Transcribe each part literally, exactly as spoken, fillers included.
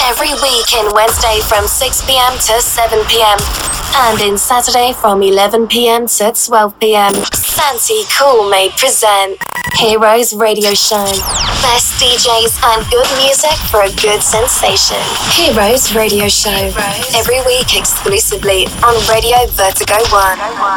Every week in Wednesday from six p.m. to seven p.m. and in Saturday from eleven p.m. to twelve p.m. Santi Coolmade present Heroes Radio Show. Best D Js and good music for a good sensation. Heroes Radio Show. Heroes. Every week exclusively on Radio Vertigo One.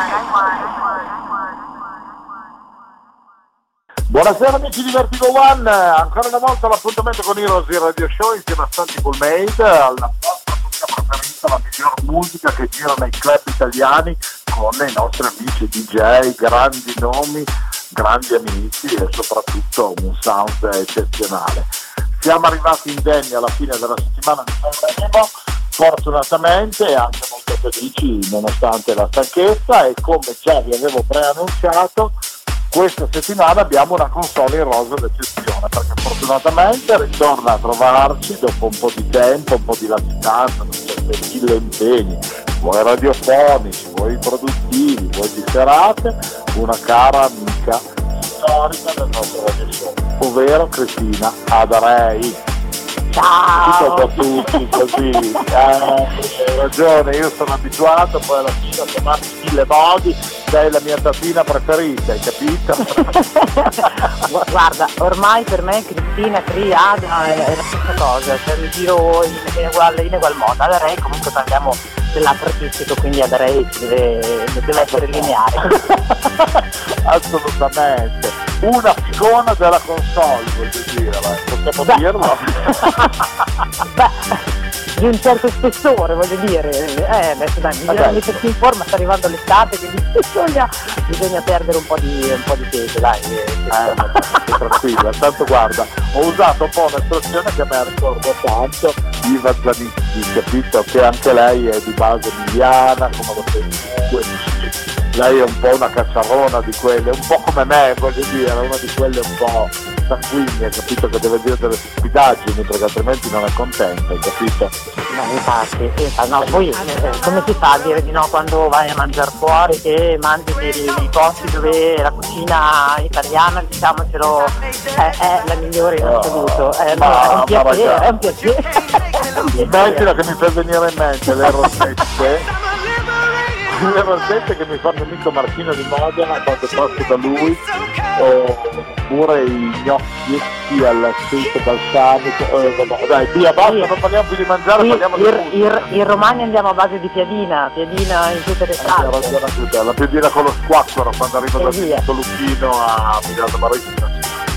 Buonasera amici di Vertigo One, ancora una volta l'appuntamento con Heroes Radio Show insieme a Santi Coolmade, alla vostra musica preferita, la miglior musica che gira nei club italiani con i nostri amici D J, grandi nomi, grandi amici e soprattutto un sound eccezionale. Siamo arrivati indenni alla fine della settimana di Sanremo, fortunatamente anche molto felici nonostante la stanchezza, e come già vi avevo preannunciato questa settimana abbiamo una console in rosa d'eccezione, perché fortunatamente ritorna a trovarci dopo un po' di tempo, un po' di latitanza, mille impegni, vuoi radiofonici, vuoi produttivi, vuoi di serate, una cara amica storica del nostro radio show, ovvero Cristina Adarei. Ciao! Tutto da tutti così, eh, hai ragione, io sono abituato poi alla fine a chiamarti mille modi, sei la mia tatina preferita, hai capito? Guarda, ormai per me Cristina, Triada è, è la stessa cosa, cioè mi giro in, in, ugual, in egual modo. Adarei comunque parliamo dell'altro artistico, quindi Adarei deve, deve essere lineare. Assolutamente. Una icona della console, voglio dire, possiamo Beh. dirlo? Beh, di un certo spessore, voglio dire, eh, adesso dai, bisogna mettersi in forma, sta arrivando l'estate, quindi bisogna, bisogna perdere un po' di, un po' di peso, dai. Eh, eh, tranquilla, tanto guarda, ho usato un po' un'espressione che mi ricorda tanto Iva Zanicchi, capito? Che anche lei è di base emiliana, come lo pensi. Lei è un po' una cacciarona di quelle, un po' come me, voglio dire, una di quelle un po' sanguigne, capito, che deve dire delle stupidaggini perché altrimenti non è contenta, hai capito? No, infatti, infatti no, poi eh, come si fa a dire di no quando vai a mangiare fuori, che mangi nei, nei posti dove la cucina italiana, diciamocelo, è, è la migliore in assoluto, è, ma, è un piacere, è un piacere. Immagina che mi fa venire in mente le rosette. Le rosette che mi fa il mio amico Marchino di Modena quando passo da lui, oppure i gnocchietti all'aceto balsamico, eh, dai via basta, sì. Non parliamo più di mangiare, sì, parliamo il, di il, in Romagna andiamo a base di piadina, piadina in tutte le salse. La piadina con lo squacquero quando arriva dal via. Lucchino a Milano Marittima.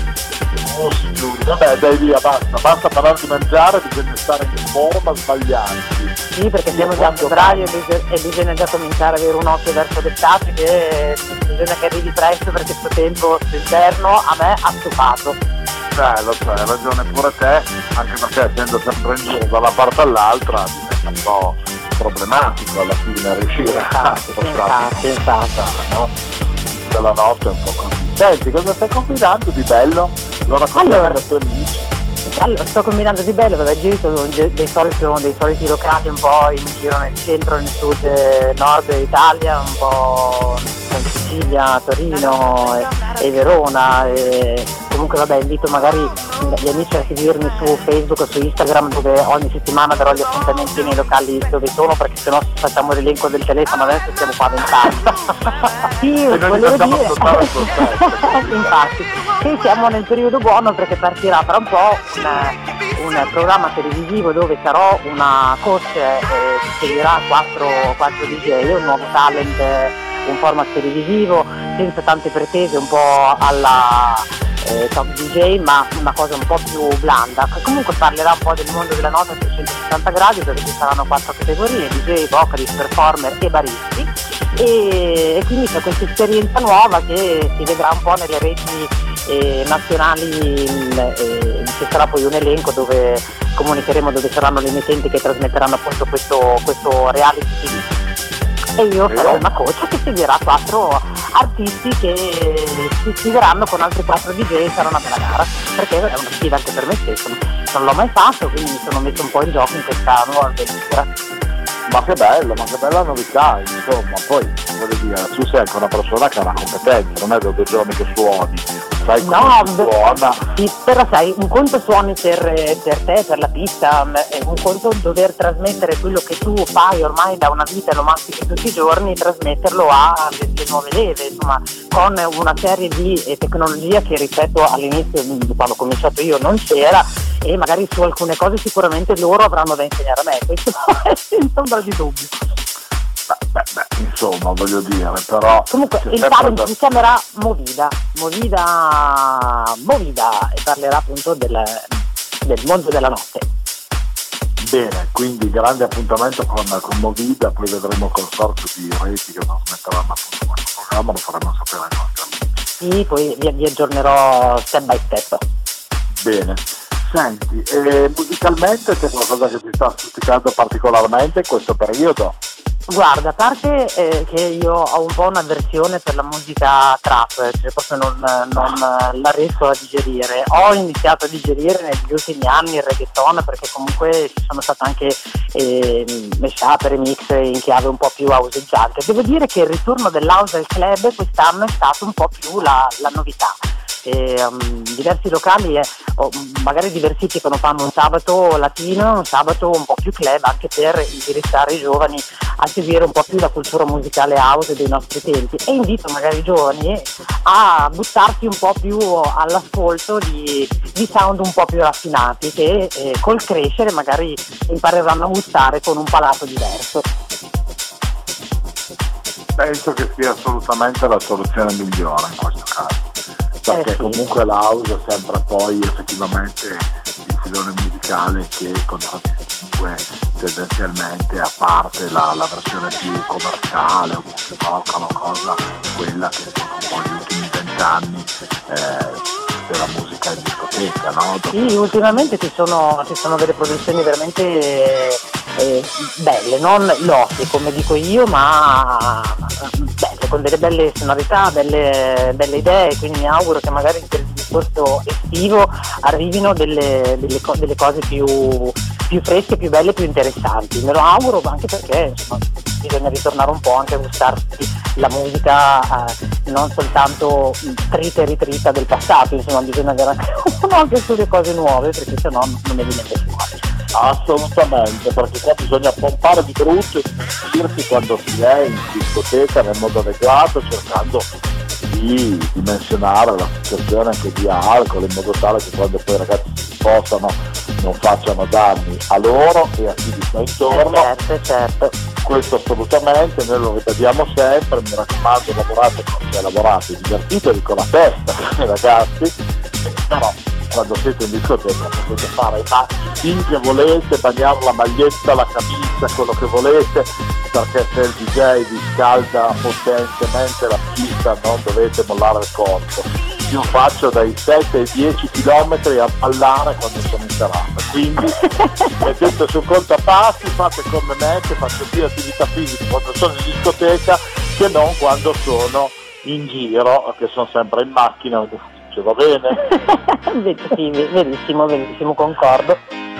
Vabbè dai via, basta, basta parlare di mangiare, bisogna stare in forma, sbagliarsi. Sì, perché siamo già a febbraio e bisogna già cominciare ad avere un occhio verso l'estate, che bisogna che arrivi presto perché questo tempo d'inverno a me ha stufato. Eh, lo so, hai ragione pure te, anche perché essendo sempre in giro da una parte all'altra diventa un po' problematico alla fine riuscire a spostare no? Della notte è un po' così. Senti, cosa stai combinando di bello? Lo raccontiamo allora, ai tuoi amici. Allora, sto combinando di bello, perché giro sono dei soliti, dei soliti locali un po' in giro nel centro, nel sud, eh, nord Italia, un po' in Sicilia, Torino e, e Verona. E comunque vabbè, invito magari gli amici a seguirmi su Facebook o su Instagram, dove ogni settimana darò gli appuntamenti nei locali dove sono, perché sennò facciamo l'elenco del telefono, adesso siamo qua a vent'anni. Sì, e noi volevo dire infatti sì, siamo nel periodo buono perché partirà tra un po' un, un programma televisivo dove sarò una coach e ci seguirà quattro, quattro D J, un nuovo talent, un format televisivo senza tante pretese, un po' alla eh, top D J, ma una cosa un po' più blanda, che comunque parlerà un po' del mondo della nota a trecentosessanta gradi, dove ci saranno quattro categorie: D J, vocalist, performer e baristi, e, e quindi c'è questa esperienza nuova che si vedrà un po' nelle reti eh, nazionali, eh, ci sarà poi un elenco dove comunicheremo dove saranno le emittenti che trasmetteranno appunto questo, questo reality T V. E io sarò una coach che seguirà quattro artisti che si iscriveranno con altri quattro D J, sarà una bella gara, perché è una sfida anche per me stesso, non l'ho mai fatto, quindi mi sono messo un po' in gioco in questa nuova avventura. Ma che bello, ma che bella novità, insomma, poi voglio dire, tu sei anche una persona che ha una competenza, non è da due giorni che suoni, sai come si suona. Sì, però sai, un conto suoni per, per te, per la pista, è un conto dover trasmettere quello che tu fai ormai da una vita, lo mastichi tutti i giorni, trasmetterlo alle nuove leve, insomma, con una serie di tecnologia che rispetto all'inizio, quando ho cominciato io, non c'era, e magari su alcune cose sicuramente loro avranno da insegnare a me, questo è senza ombra di dubbio. Beh, beh, beh, insomma, voglio dire, però... Comunque il talent da... si chiamerà Movida, Movida, Movida, e parlerà appunto del, del mondo della notte. Bene, quindi grande appuntamento con, con Movida, poi vedremo il consorzio di reti che trasmetteranno appunto questo programma, lo faremo sapere ai nostri amici. Sì, poi vi, vi aggiornerò step by step. Bene. Senti, eh, musicalmente c'è qualcosa che ti sta stuzzicando particolarmente in questo periodo? Guarda, a parte eh, che io ho un po' un'avversione per la musica trap, cioè proprio non, non la riesco a digerire. Ho iniziato a digerire negli ultimi anni il reggaeton, perché comunque ci sono state anche eh, mashup, remix in chiave un po' più houseggiante. Devo dire che il ritorno dell'house al club quest'anno è stato un po' più la, la novità. E, um, diversi locali eh, o magari diversificano, fanno un sabato latino, un sabato un po' più club, anche per indirizzare i giovani a seguire un po' più la cultura musicale house dei nostri tempi, e invito magari i giovani a buttarsi un po' più all'ascolto di, di sound un po' più raffinati, che eh, col crescere magari impareranno a gustare con un palato diverso. Penso che sia assolutamente la soluzione migliore in questo caso, perché eh sì. Comunque la house è sempre poi effettivamente il filone musicale che contraddistingue tendenzialmente, a parte la, la versione più commerciale o più rock, una cosa, quella che sono un po' gli ultimi vent'anni eh, della musica in discoteca, no? Sì, ultimamente ci sono, ci sono delle produzioni veramente eh, belle, non lotte come dico io, ma belle, con delle belle sonorità, belle, belle idee, quindi mi auguro che magari per il discorso estivo arrivino delle, delle, co- delle cose più, più fresche, più belle, più interessanti. Me lo auguro anche perché insomma, bisogna ritornare un po' anche a gustarsi la musica, eh, non soltanto trita e ritrita del passato, insomma bisogna avere anche, anche sulle cose nuove, perché sennò non ne viene fuori. Assolutamente, perché qua bisogna pompare di brutto e divertirsi quando si è in discoteca nel modo adeguato, cercando di dimensionare la situazione anche di alcol, in modo tale che quando poi i ragazzi si spostano non facciano danni a loro e a chi gli sta intorno. Eh certo, certo. Questo assolutamente, noi lo ripetiamo sempre, mi raccomando, lavorate come se lavorate, divertitevi con la testa, ragazzi, però quando siete in discoteca potete fare i matti finché volete, bagnare la maglietta, la camicia, quello che volete, perché se il D J vi scalda potentemente la pista non dovete mollare il corpo. Io faccio dai sette ai dieci chilometri a ballare quando sono in serata, quindi mettete sul contapassi, fate come me che faccio più attività fisica quando sono in discoteca che non quando sono in giro, che sono sempre in macchina o in ufficio, va bene? Sì, verissimo, verissimo, concordo.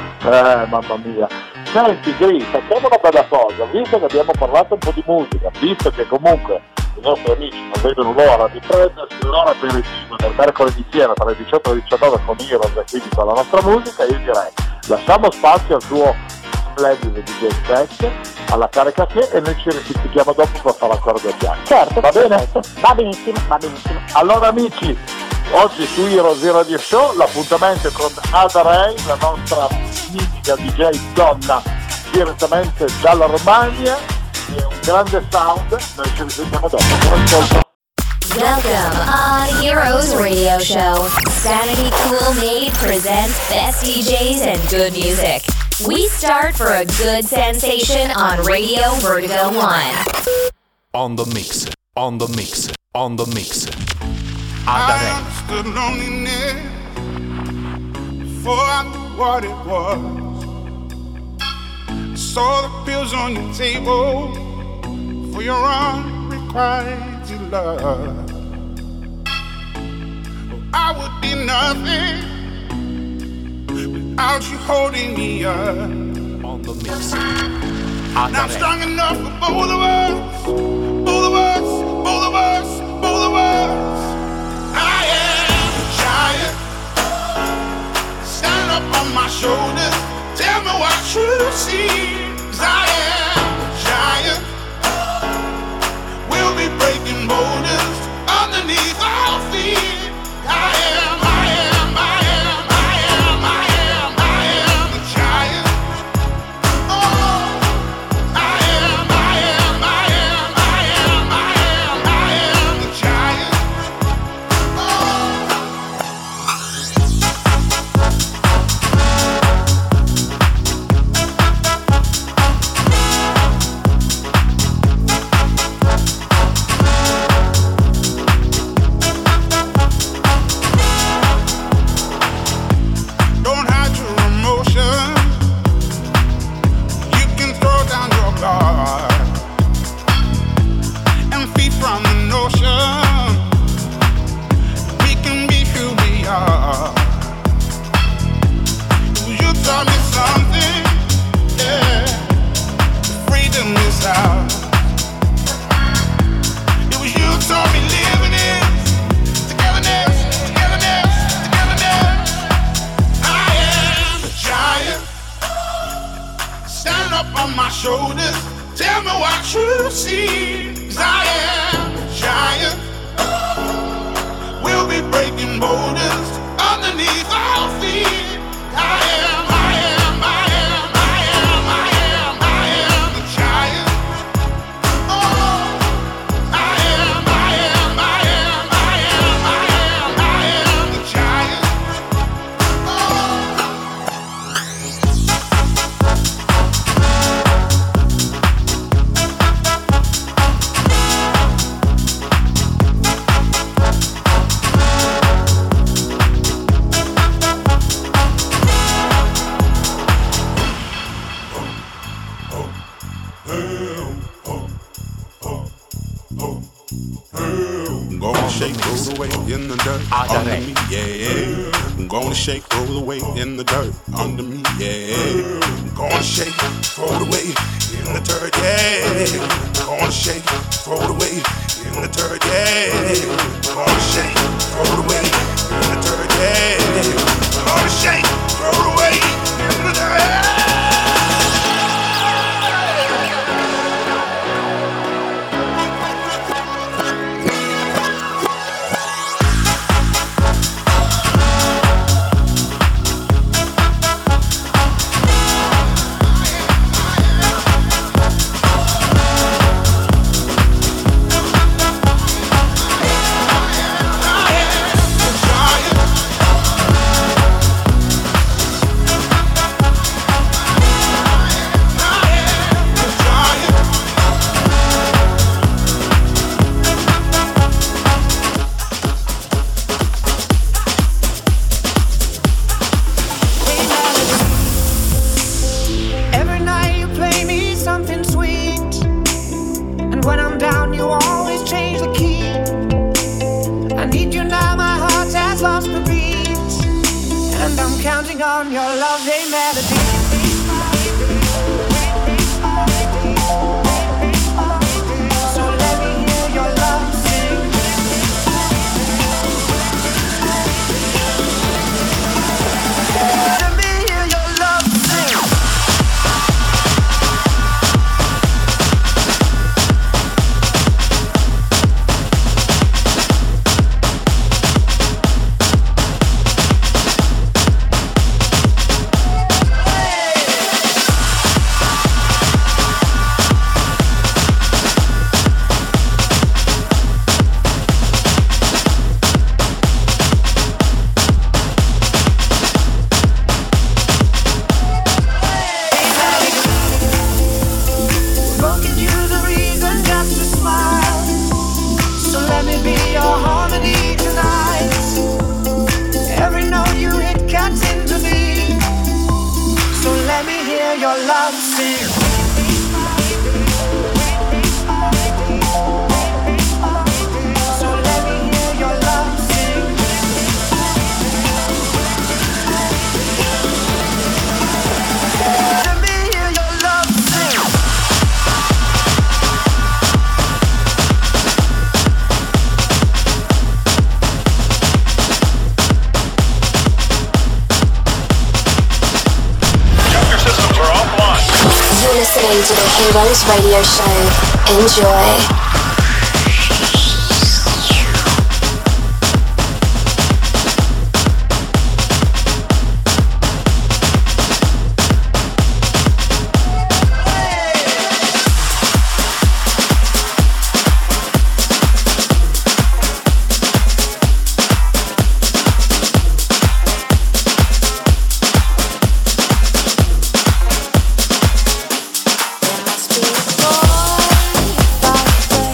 Eh, mamma mia. Senti Gri, facciamo una bella cosa, visto che abbiamo parlato un po' di musica, visto che comunque i nostri amici non vedono l'ora di prendersi l'ora aperitivo del mercoledì sera tra le diciotto e le diciannove con Heroes e quindi con la nostra musica, io direi lasciamo spazio al tuo splendido D J set, alla carica che, e noi ci risentiamo dopo per fare ancora due chiacchiere. Certo, va bene? Certo. Va benissimo, va benissimo. Allora amici, oggi su Heroes Radio Show l'appuntamento è con Ada Ray, la nostra mitica D J donna direttamente dalla Romagna, è un grande sound, noi ci risentiamo dopo. Buon ascolto. Welcome on Heroes Radio Show. Sanity Cool Made presents best D Js and good music. We start for a good sensation on Radio Vertigo One. On the mix, on the mix, on the mix. Ada Ray. I stood loneliness before I knew what it was. Saw the pills on your table for your unrequited love. I would be nothing without you holding me up. On the mix. Ada Now I'm strong enough for both of us, both of us, both of us, both of us. I am a giant. Stand up on my shoulders. Tell me what you see. 'Cause I am a giant. We'll be breaking boulders underneath our feet. I am, I am, I am, I am, I am, I am a giant. Oh, I am, I am, I am, I am, I am, I am a giant. Don't hide your emotion. You can throw down your guard and feed from the notion. We can be who we are. You taught me something, yeah. Freedom is ours. It was you taught me living is togetherness, togetherness, togetherness. I am a giant. Stand up on my shoulders. Tell me what you see. 'Cause I am a giant. We'll be breaking boulders underneath our feet. I am, I am, I am, I am, I am, I am a giant. Oh, I am, I am, I am, I am, I am, I am a giant. I'm gonna shake, roll away in the dirt Ada under Ray. me, yeah. I'm gonna shake, roll away in the dirt under me, yeah. I'm gonna shake, roll away in the dirt, yeah. I'm gonna shake, roll away in the dirt, yeah. I'm gonna shake, roll away in the dirt, yeah. I'm gonna shake, roll away in the dirt. Every night you play me something sweet, and when I'm down you always change the key. I need you now, my heart has lost the beat, and I'm counting on your lovely melody. So let me hear your love sing. Let me hear your love sing. Broken you the reason just to smile. So let me be your harmony tonight. Every note you hit cuts into me. So let me hear your love sing. So let me hear your love sing. Let me hear your love sing. listening to the Heroes Radio Show. Enjoy. Boy, if I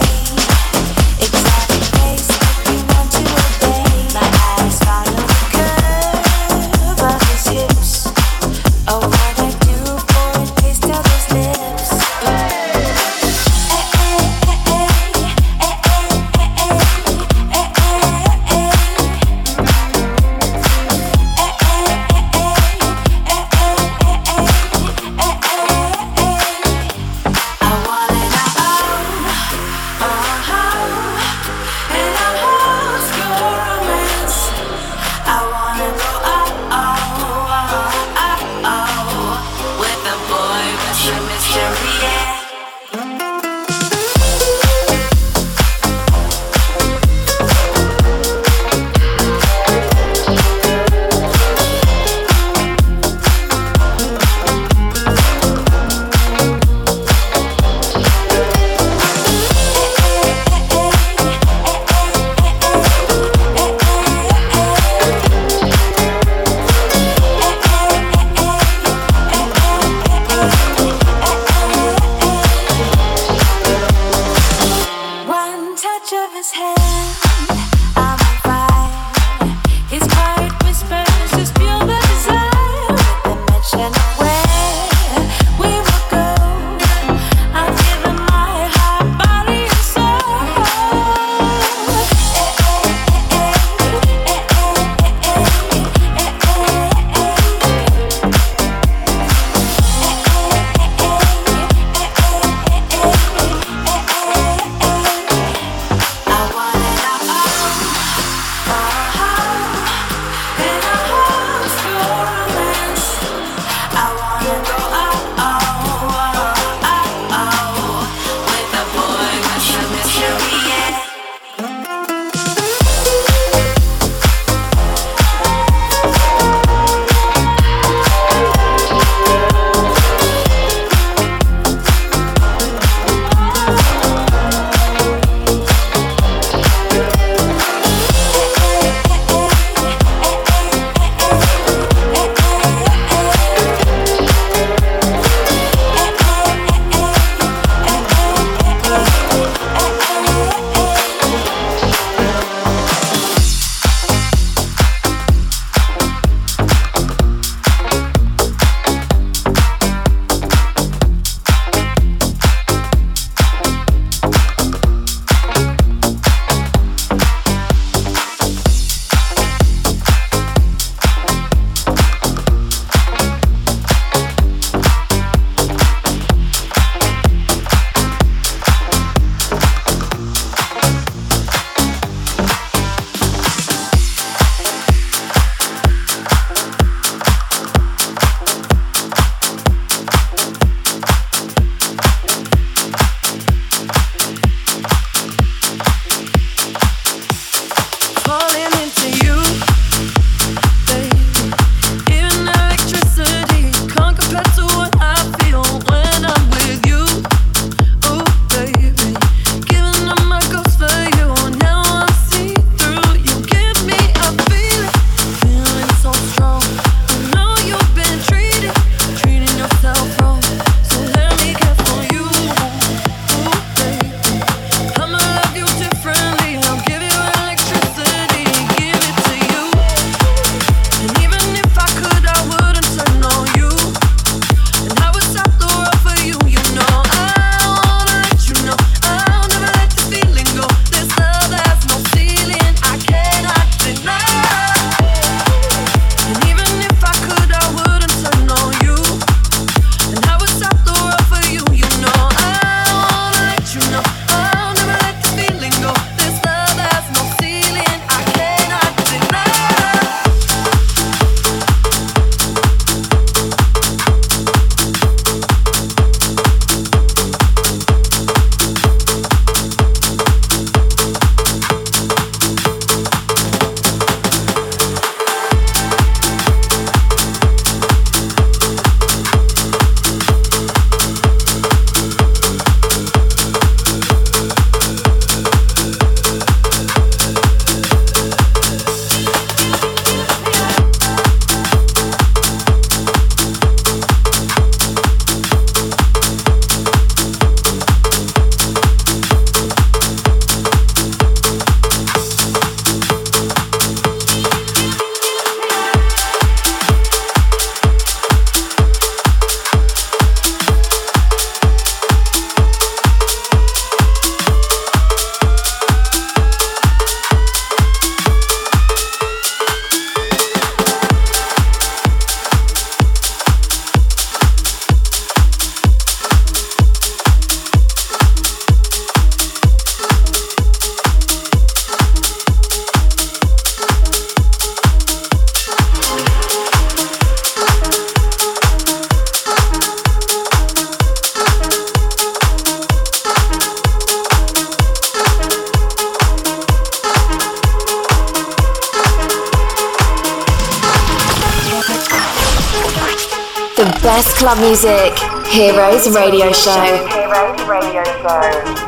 club music. Heroes Radio Show. Heroes Radio Show.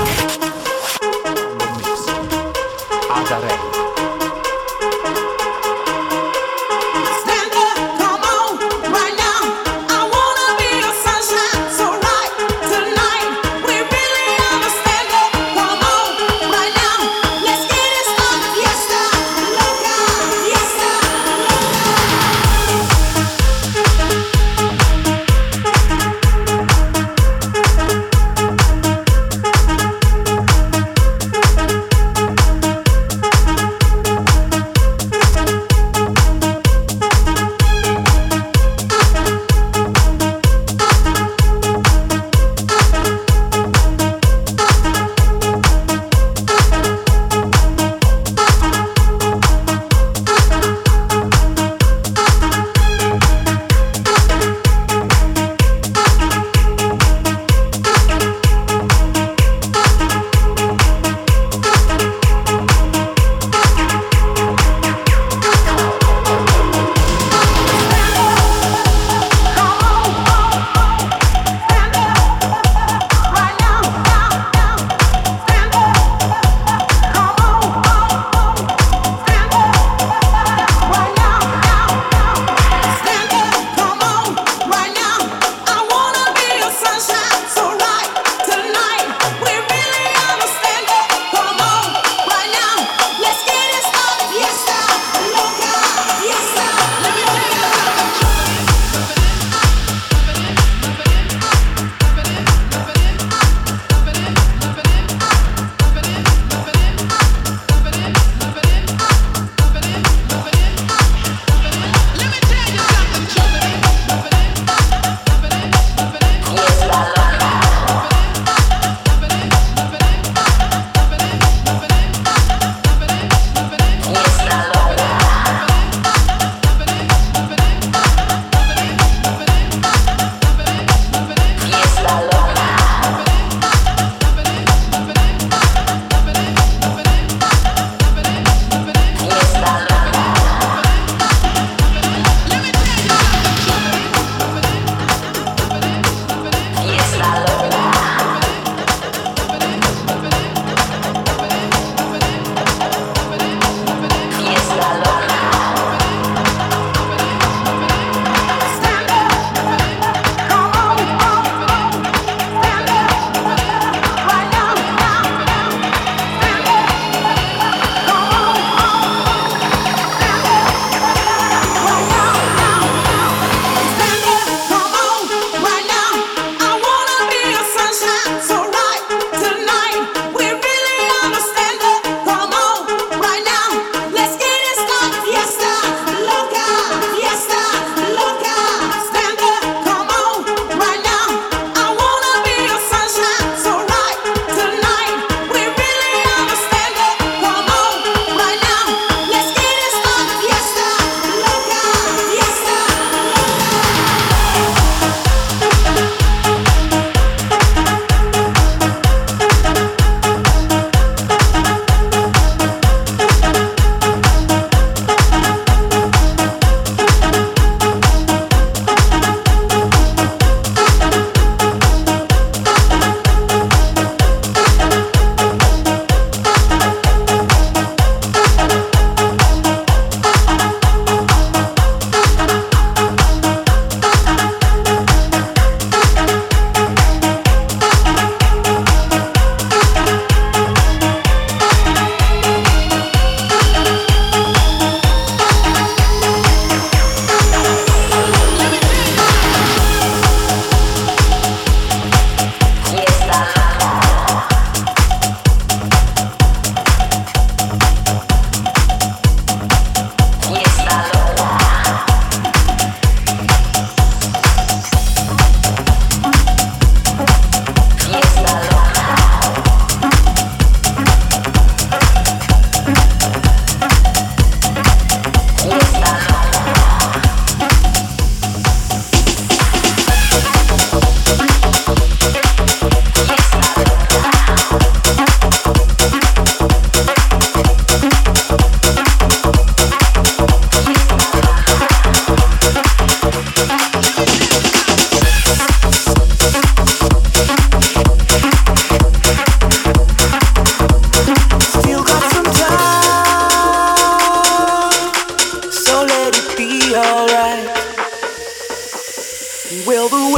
Adarelli.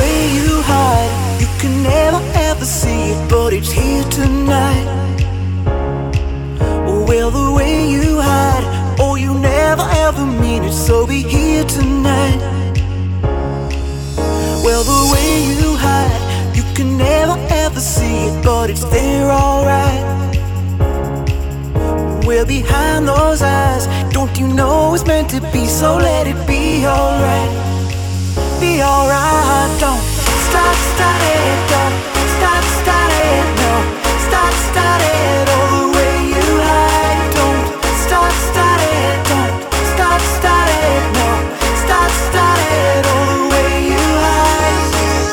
way you hide, you can never ever see it, but it's here tonight. Well, the way you hide, oh, you never ever mean it, so be here tonight. Well, the way you hide, you can never ever see it, but it's there alright. Well, behind those eyes, don't you know it's meant to be, so let it be alright. Be alright, don't start, start it, don't start, start it, no. Start, start it, oh, the way you hide, don't start, start it, don't start, start it, no. Start, start it, oh, the way you hide.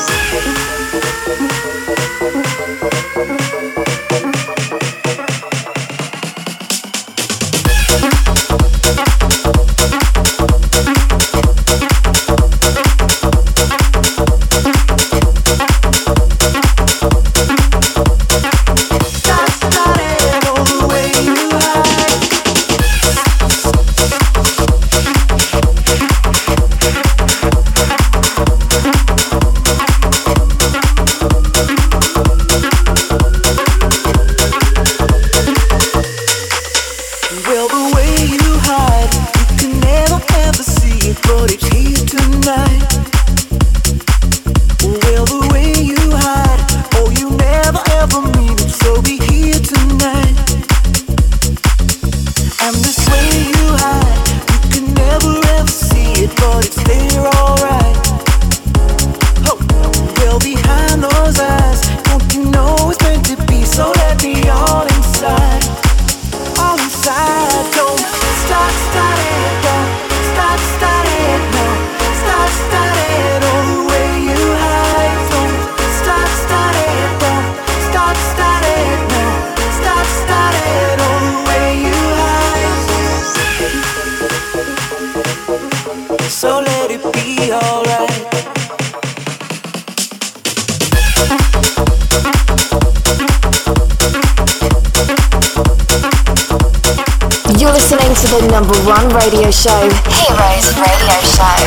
Radio show, Heroes Radio Show.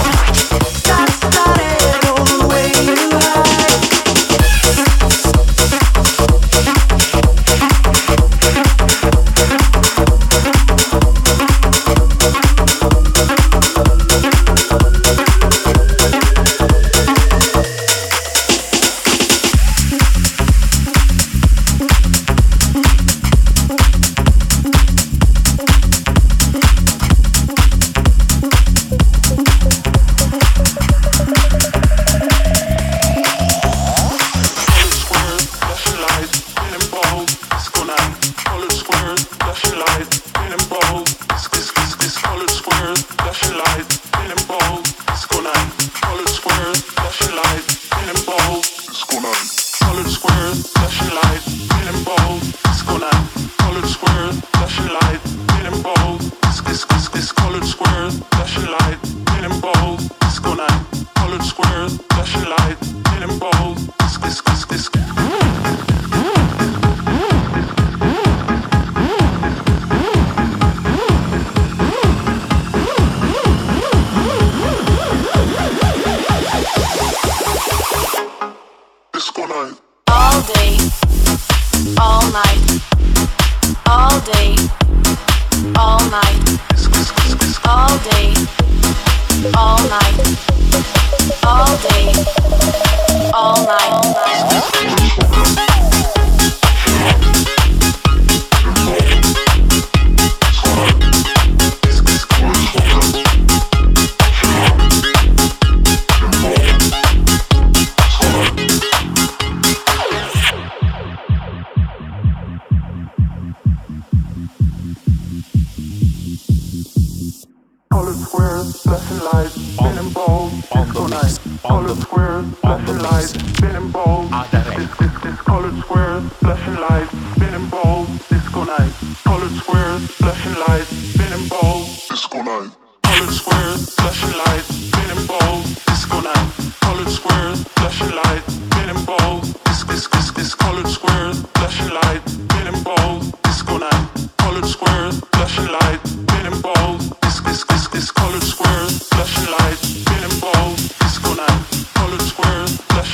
Colored squares, flashing lights, spinning balls, disco night. Colored squares, flashing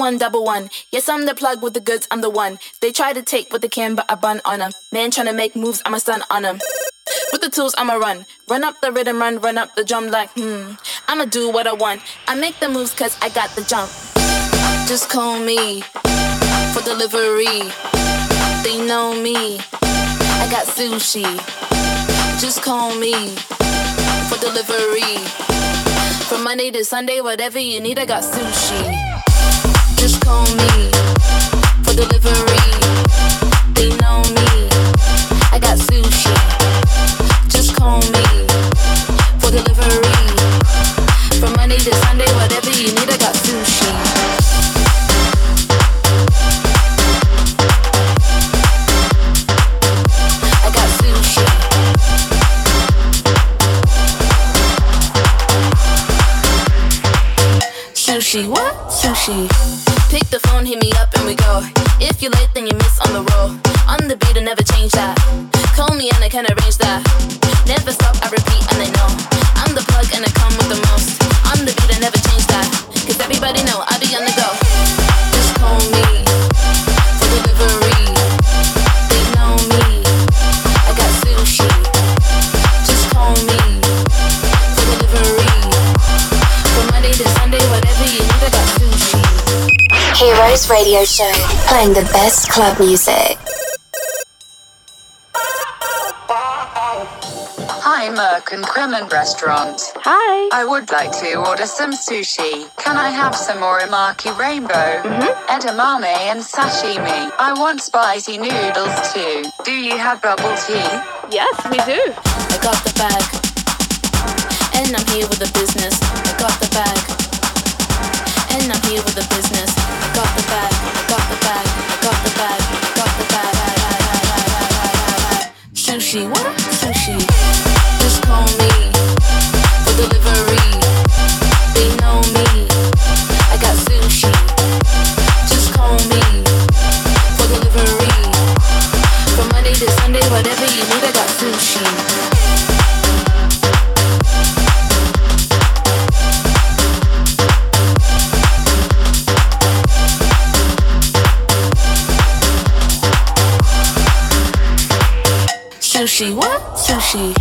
one double one. Yes, I'm the plug with the goods, I'm the one. They try to take what they can, but I bun on them. Man tryna make moves, I'm a stun on them. With the tools, I'ma run. Run up the rhythm, run, run up the drum like, hmm. I'ma do what I want. I make the moves cause I got the jump. Just call me for delivery. They know me. I got sushi. Just call me for delivery. From Monday to Sunday, whatever you need, I got sushi. Just call me for delivery. They know me. I got sushi. Just call me for delivery. From Monday to Sunday, whatever you need, I got sushi. I got sushi. Sushi, what? Sushi. Pick the phone, hit me up and we go. If you're late, then you miss on the roll. On the beat, I never change that. Call me and I can arrange that. Never stop, I repeat and I know. I'm the plug and I come with the most. On the beat, I never change that. Cause everybody know I be on the go. Just call me for delivery. They know me. I got sushi. Just call me for delivery. From Monday to Sunday, whatever you need, I got sushi. Heroes Radio Show, playing the best club music. Hi, Merck and Kremen Restaurant. Hi. I would like to order some sushi. Can I have some orimaki rainbow, Mm-hmm. edamame and sashimi? I want spicy noodles too. Do you have bubble tea? Yes, we do. I got the bag, and I'm here with the business. I got the bag, and I'm here with the business. I got the bag, I got the bag, I got the bag, I got the bag. Sushi, what? Sushi. Just call me for delivery. They know me. I got sushi. Just call me for delivery. From Monday to Sunday, whatever you need, I got sushi. Sushi, what? Sushi.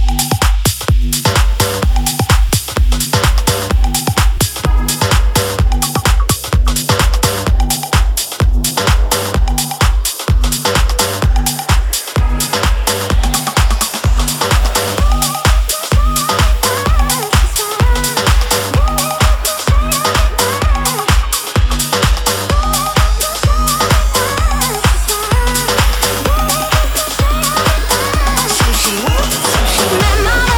Sushi, sushi.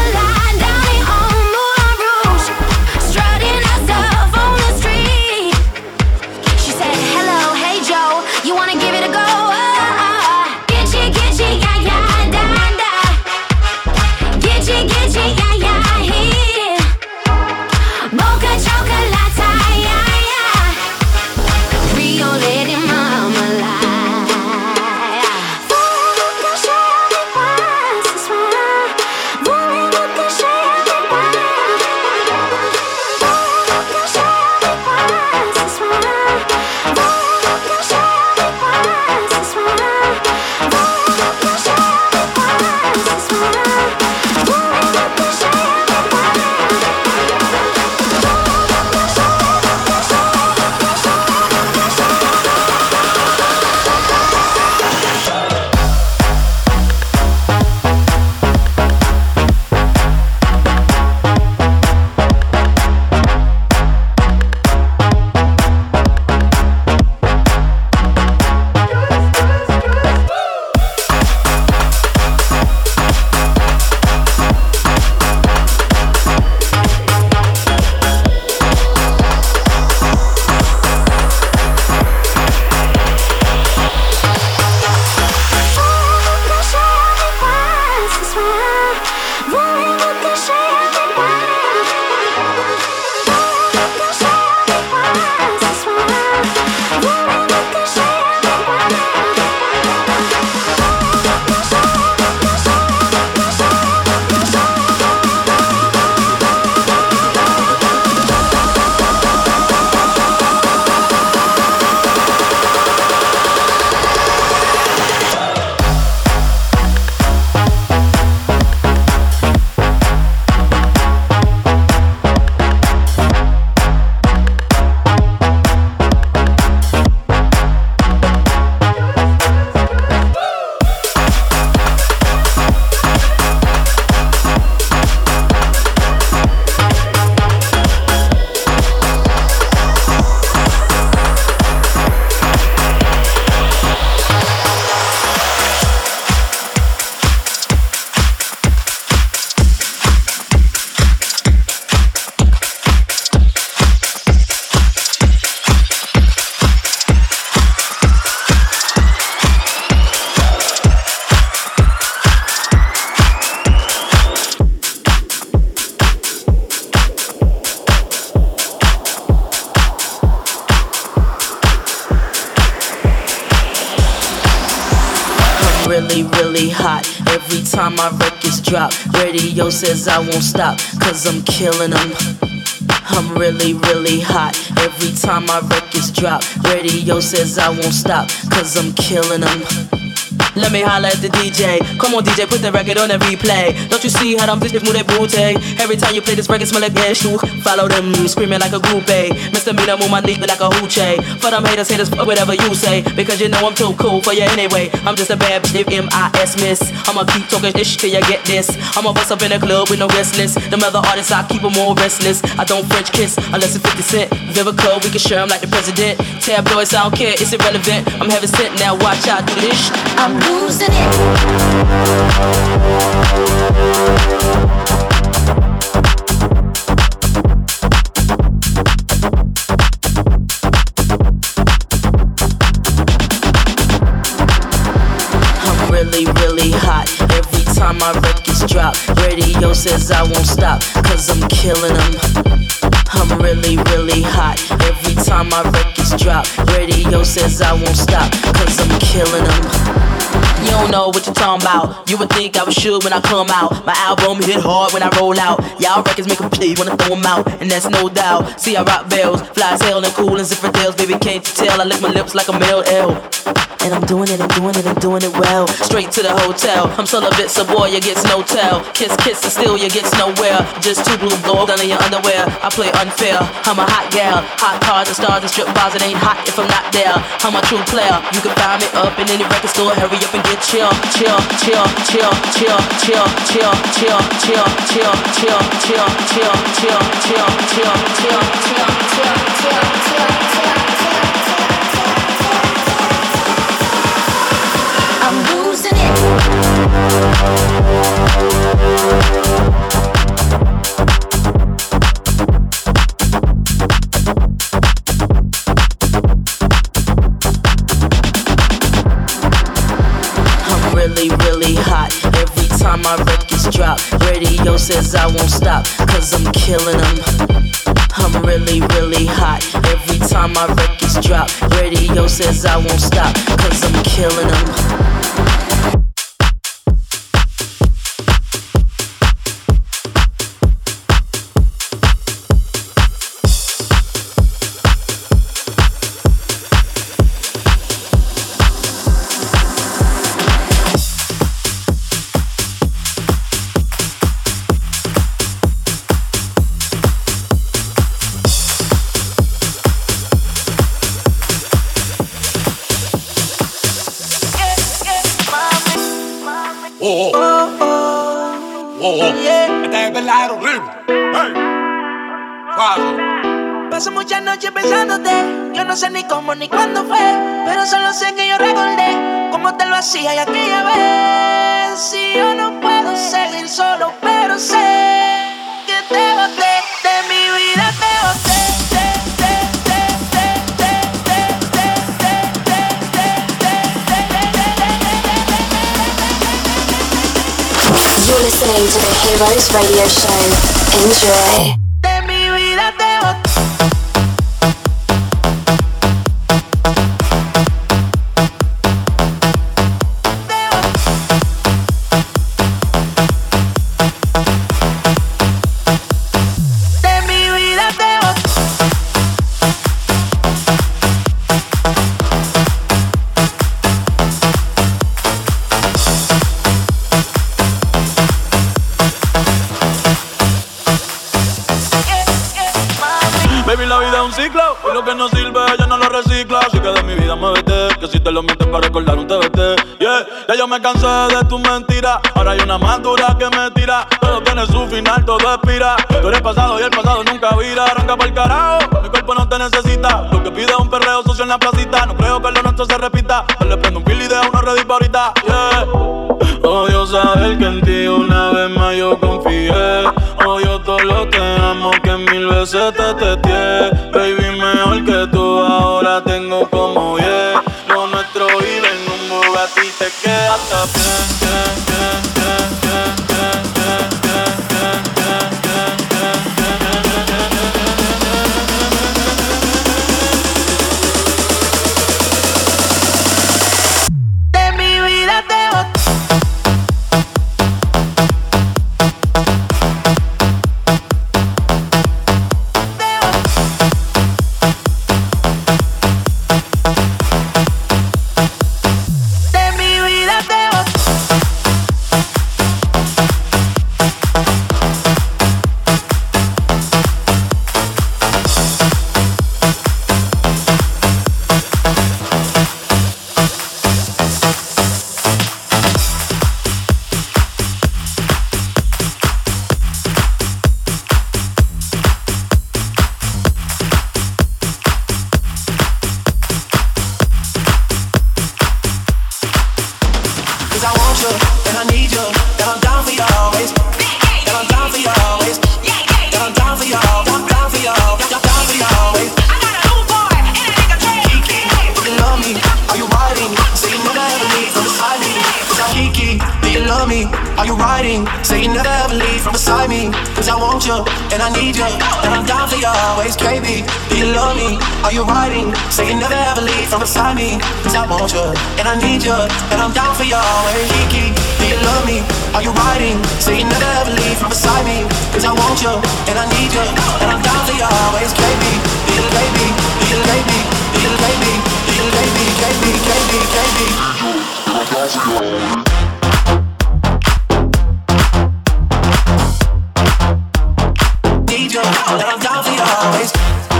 really, really hot. Every time my records drop, radio says I won't stop, cause I'm killing them. I'm really, really hot. Every time my records drop, radio says I won't stop, cause I'm killing them. Let me holler at the D J. Come on D J, put the record on and replay. Don't you see how them bitches move their booty? Every time you play this record smell like ash too. Follow them, screaming like a groupie. Mister Mina move my dick like a hoochie. For them haters, haters, fuck whatever you say, because you know I'm too cool for you anyway. I'm just a bad bitch, M I S miss. I'ma keep talking this till you get this. I'ma bust up in the club with no restless. Them other artists, I keep them all restless. I don't French kiss unless it's fifty cent. Vivica, we can share them like the president. Tabloids, I don't care, it's irrelevant. I'm heaven sent, now watch out, do this shit. I'm losing it. I'm really, really hot. Every time my records drop, radio says I won't stop, cause I'm killing them. I'm really, really hot. Every time my records drop, radio says I won't stop, cause I'm killing them. You don't know what you're talking about. You would think I was sure when I come out. My album hit hard when I roll out. Y'all records make them play, wanna throw them out, and that's no doubt. See I rock bells, fly as hell and cool and zipper tails. Baby, can't you tell? I lick my lips like a male L. And I'm doing it, I'm doing it, I'm doing it well. Straight to the hotel. I'm celibate, so boy, you gets no tell. Kiss, kiss, and still you gets nowhere. Just two blue gold under your underwear. I play unfair. I'm a hot gal. Hot cars and stars and strip bars. It ain't hot if I'm not there. I'm a true player. You can find me up in any record store. Hurry up and get chill, chill, chill, chill, chill, chill, chill, chill, chill, chill, chill, chill, chill, chill, chill, chill, chill, chill, chill, chill. I'm losing it. I'm really, really hot. Every time my records drop, radio says I won't stop, cause I'm killing them. I'm really, really hot. Every time my records drop, radio says I won't stop, cause I'm killing them. Oh, oh, oh, oh, oh. Este es verdadero horrible. Hey, suave. Paso muchas noches pensándote. Yo no sé ni cómo ni cuándo fue, pero solo sé que yo recordé cómo te lo hacía y aquella vez. Si yo no puedo seguir solo, pero sé que te boté de mi vida, te boté. You're listening to the Heroes Radio Show. Enjoy. De mi vida te boté. Y lo que no sirve, ella no lo recicla. Así que de mi vida me vete, que si te lo mientes para recordar un T B T. Yeah, ya yo me cansé de tus mentiras. Ahora hay una más dura que me tira. Todo tiene su final, todo expira. Tú eres pasado y el pasado nunca vira. Arranca pa'l carajo, mi cuerpo no te necesita. Lo que pide es un perreo socio en la placita. No creo que lo nuestro se repita. Yo le prendo un kill y de uno ready pa' ahorita. Yeah. Odio saber que en ti una vez más yo confié. Odio todo lo que amo, que mil veces te testé. Baby, mejor que tú ahora tengo como yeah. Lo nuestro vive en un Bugatti, te queda hasta bien, bien, bien, bien, bien, bien, bien, bien, bien, bien, bien, bien. De mi vida te boté. want you, and I need you, and I'm down for you always. And I'm down for you always. And I'm down for you, down, down for you, down, down for you always. I got a new boy, and a nigga Drake. Kiki, do you love me? Are you riding? Say you never ever leave from beside me. Kiki, do you love me? Are you riding? Say you never ever leave from beside me. Cause I want you, and I need you, and I'm down for you always. Baby, do you love me? Are you riding? Say you never ever leave from beside me. Cause I want you, and I need you, and I'm down for you always. Kiki, do you love me? Are you riding? Say you never ever leave from beside me. Cause I want you, and I need you, and I'm down for you always. Baby, do you baby, do you baby, do you baby, do you baby, baby, baby, baby. Need you, and I'm down for you always.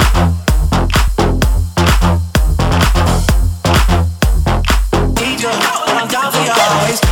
Need you, and I'm down for you always.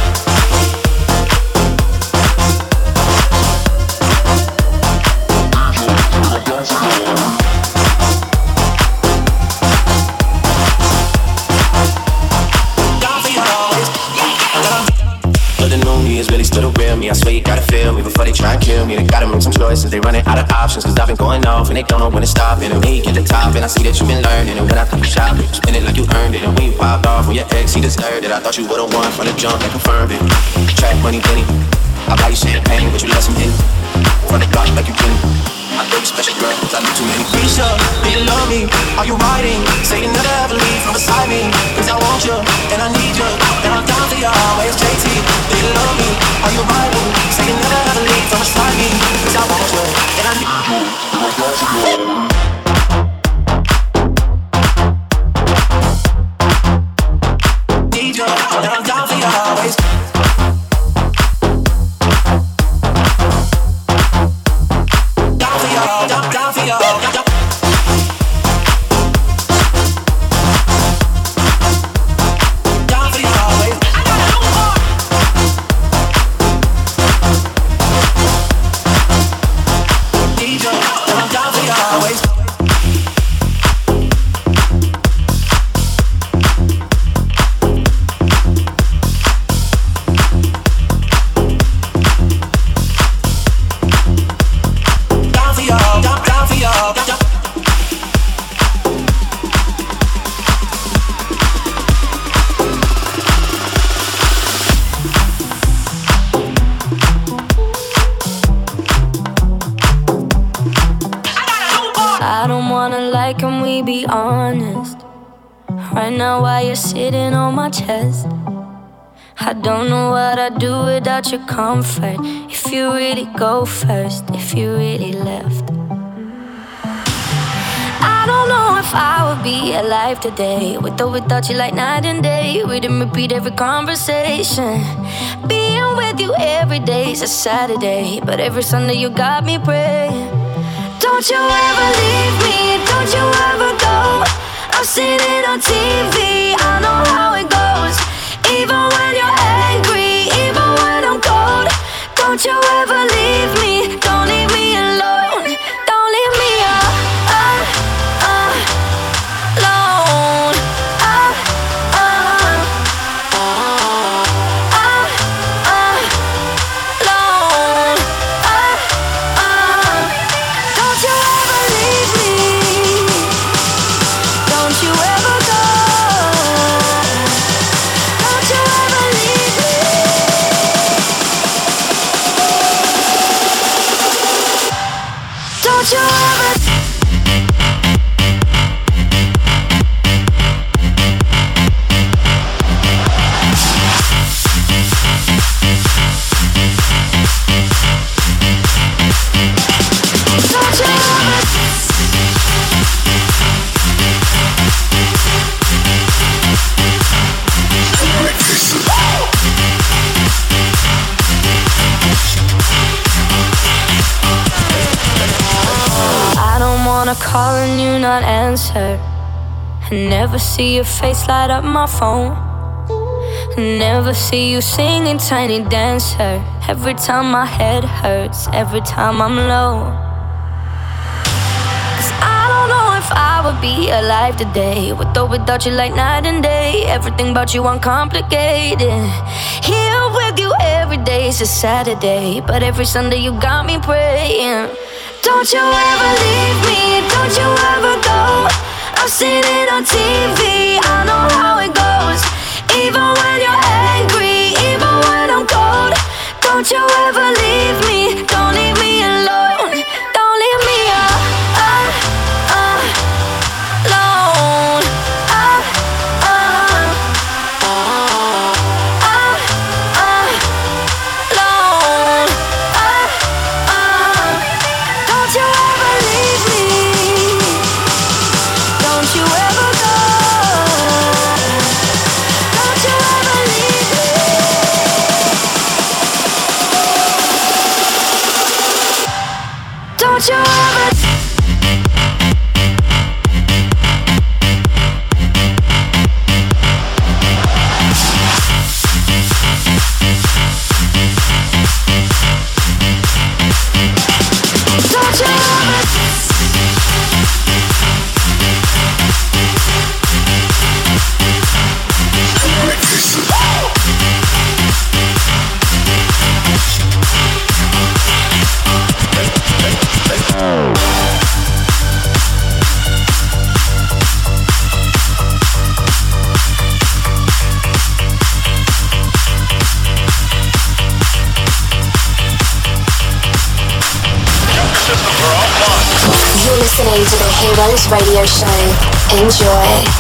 I swear you gotta feel me before they try and kill me. They gotta make some choices, they running out of options. Cause I've been going off and they don't know when to stop. And when you get the top and I see that you've been learning. And when I think you shop, you spend it like you earned it. And when you popped off when your ex, he deserved it. I thought you would've won from the jump and confirmed it. Track money, Benny, I buy you champagne, but you let some in. Run the block like you can. I think you special girl, cause I do too many. Risha, do you love me? Are you riding? Say you never ever leave from beside me. Cause I want you, and I need you, and I'm down for you always. J T, do you love me? Are you riding? Say you never ever leave from beside me. Cause I want you, and I need you, and I'm down for you. Need you, and I'm down for you always. Down, down for you, down, down. Down for you always. I got a new boy. Need you, and I'm down for you always. Can we be honest? Right now while you're sitting on my chest, I don't know what I'd do without your comfort. If you really go first, if you really left, I don't know if I would be alive today, with or without you like night and day. We didn't repeat every conversation. Being with you every day's a Saturday, but every Sunday you got me praying. Don't you ever leave me, don't you ever go. I've seen it on T V, I know how it goes. Even when you're angry, even when I'm cold. Don't you ever leave me, don't leave me alone. Don't leave me uh, uh, uh, alone. Uh, uh, uh, uh, alone. Uh, uh. Don't you ever leave me. Don't you ever go. Don't you ever leave me. Don't you ever. Call and you not answer. I never see your face light up my phone. Never see you singing Tiny Dancer. Every time my head hurts, every time I'm low. Cause I don't know if I would be alive today, with or without you like night and day. Everything about you uncomplicated. Here with days are Saturday, but every Sunday you got me praying. Don't you ever leave me, don't you ever go. I've seen it on T V, I know how it goes. Even when you're angry, even when I'm cold. Don't you ever leave me, don't leave me alone. Don't leave me uh, uh, uh, alone. Uh, uh, uh, uh, alone. Uh, uh, don't you ever leave me. Don't you ever go. Don't you ever leave me. Don't you ever. Don't you ever. You're listening to the Heroes Radio Show. Enjoy.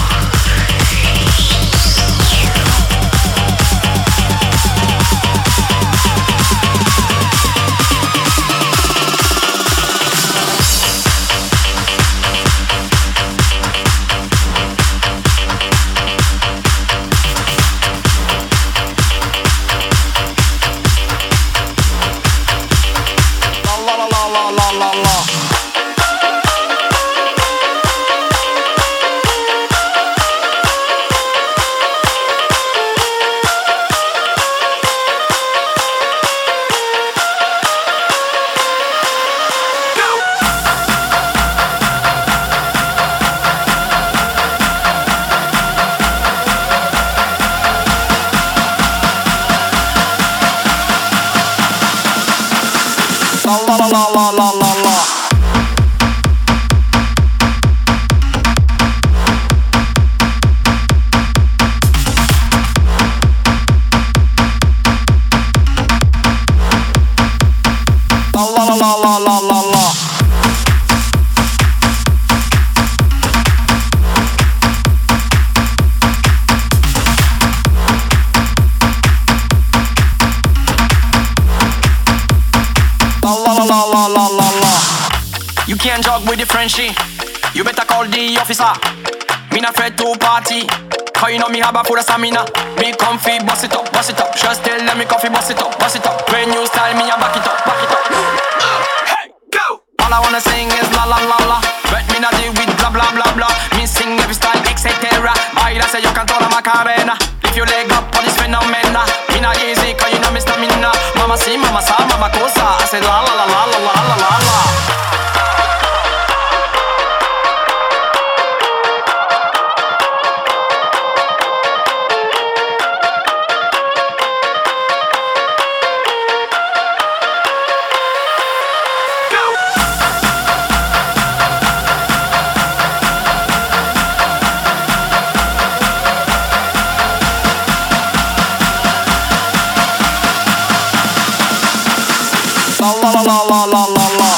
You can't jog with the Frenchie. You better call the officer. Me not afraid to party. Cause you know me have a full of stamina. Be comfy, bust it up, bust it up. Just tell them me comfy, bust it up, bust it up. When you style me, I back it up, back it up. Hey, go! All I wanna sing is la la la la. But me not deal with blah blah blah blah. Me sing every style, et cetera. Baila say you control the Macarena. If you leg up on this phenomena. Me not easy, cause you know me stamina. Mama si, mama sa, mama cosa. I say la la la la la la la la la. La la la la la la.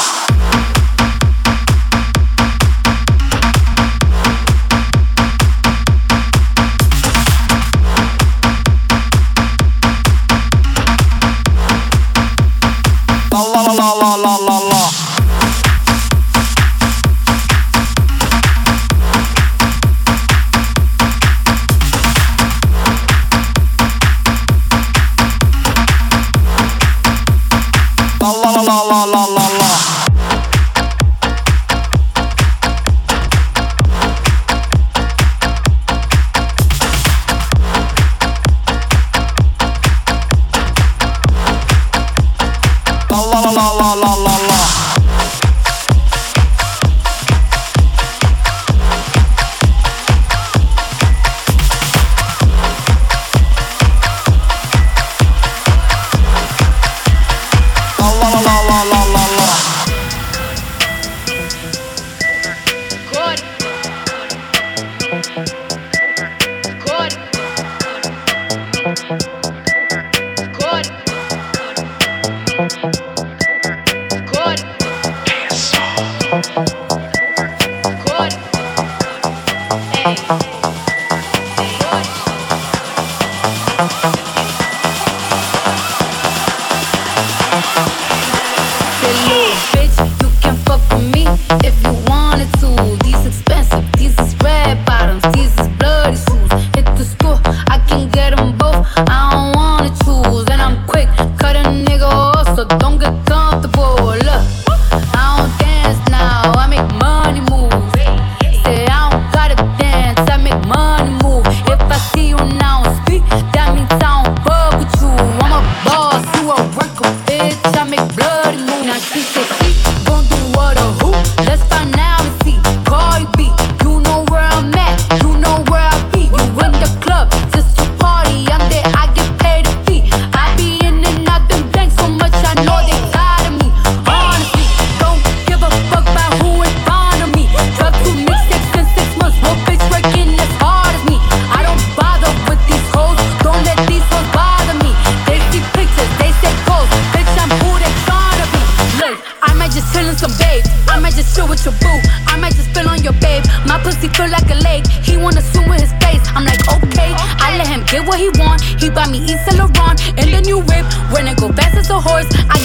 La la la la la la la. La la la la la la la. La la la la la la la.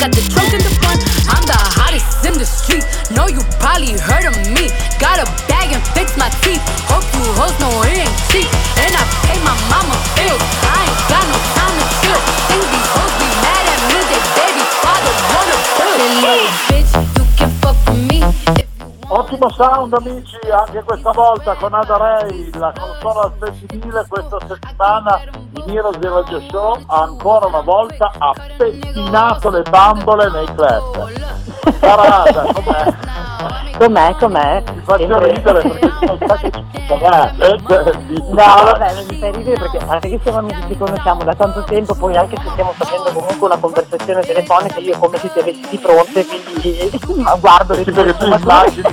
got the trunk in the front. I'm the hottest in the street. Know you probably heard of me. Got a bag and fix my teeth. Hope you hoes know it ain't cheap. And I pay my mama bills. I ain't got no time to chill. Think these hoes be mad at me. They baby father wanna bill. Little bitch, you can fuck with me. Ottimo sound amici, anche questa volta con Ada Ray, la console al femminile questa settimana in Heroes di Radio Show ancora una volta ha pettinato le bambole nei club. Parata, com'è? Com'è, com'è? Mi faccio ridere perché non sa che ci No, vabbè, mi fai ridere perché anche che siamo amici, ci conosciamo da tanto tempo, poi anche se stiamo facendo comunque una conversazione telefonica, io come se ti avessi di fronte, quindi guardo le tue immagini.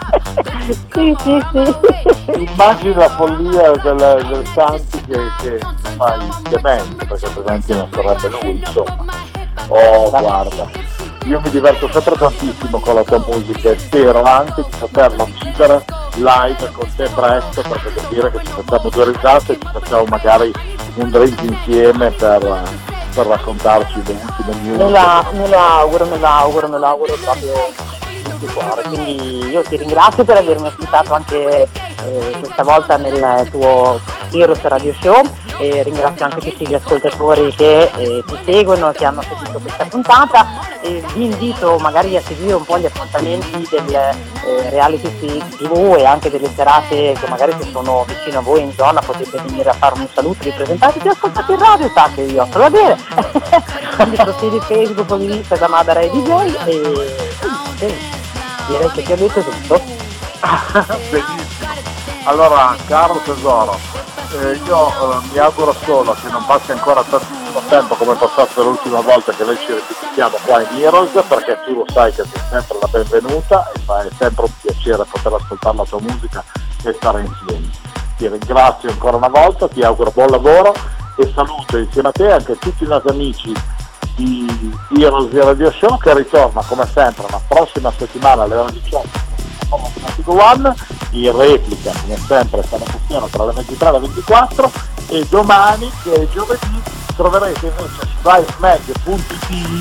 Sì, sì, sì. Immagini la follia del, del Santi che, che fa il demente, perché altrimenti non sarebbe lui, insomma. Oh, guarda, io mi diverto sempre tantissimo con la tua musica e spero anche di poterla uccidere live con te presto, perché vuol dire che ci facciamo due risate e ci facciamo magari un drink insieme per, per raccontarci le ultime news. Me la, me lo auguro, me lo auguro, me lo auguro proprio. Cuore. Quindi io ti ringrazio per avermi ospitato anche eh, questa volta nel tuo Heroes Radio Show e ringrazio anche tutti gli ascoltatori che eh, ti seguono, che hanno seguito questa puntata e vi invito magari a seguire un po' gli appuntamenti del eh, reality tivù e anche delle serate che magari se sono vicino a voi in zona potete venire a fare un saluto, vi presentate, ti ascoltate in radio, sa che io so da dire quindi profili Facebook o Instagram Ada Ray D J e eh, direi che ti ho detto tutto. Benissimo. Allora, caro tesoro, eh, io eh, mi auguro solo che non passi ancora tantissimo tempo come è passato l'ultima volta che noi ci ritroviamo qua in Heroes, perché tu lo sai che sei sempre la benvenuta e fa, è sempre un piacere poter ascoltare la tua musica e stare insieme. Ti ringrazio ancora una volta, ti auguro buon lavoro e saluto insieme a te anche tutti i nostri amici di Heroes di Radio Show che ritorna come sempre la prossima settimana alle ore diciotto One, in replica come sempre stamattina tra le ventitré e le ventiquattro e domani che è giovedì troverete invece su livemag punto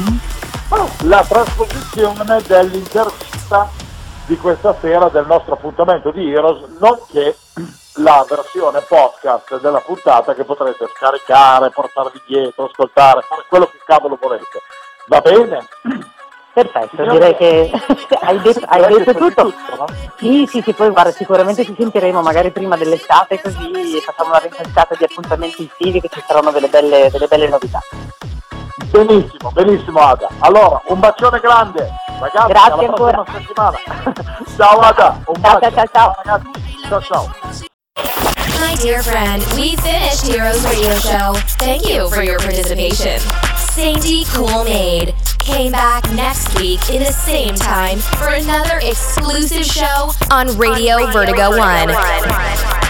it la trasposizione dell'intervista di questa sera del nostro appuntamento di Heroes, nonché la versione podcast della puntata che potrete scaricare, portarvi dietro, ascoltare, fare quello che cavolo volete. Va bene? Perfetto, signora, direi che hai detto, hai detto tutto. tutto no? Sì, sì, sì, poi guarda, sicuramente ci sentiremo magari prima dell'estate così facciamo una rinsensata di appuntamenti estivi che ci saranno delle belle, delle belle novità. Benissimo, benissimo Ada. Allora, un bacione grande, ragazzi, grazie alla ancora. prossima settimana. Ciao Ada, un ciao, bacio. ciao, ciao, ragazzi. Ciao, ciao. My dear friend, we finished Heroes Radio Show. Thank you for your participation. Sainty Cool Maid came back next week in the same time for another exclusive show on Radio, on Radio Vertigo, Vertigo One. One.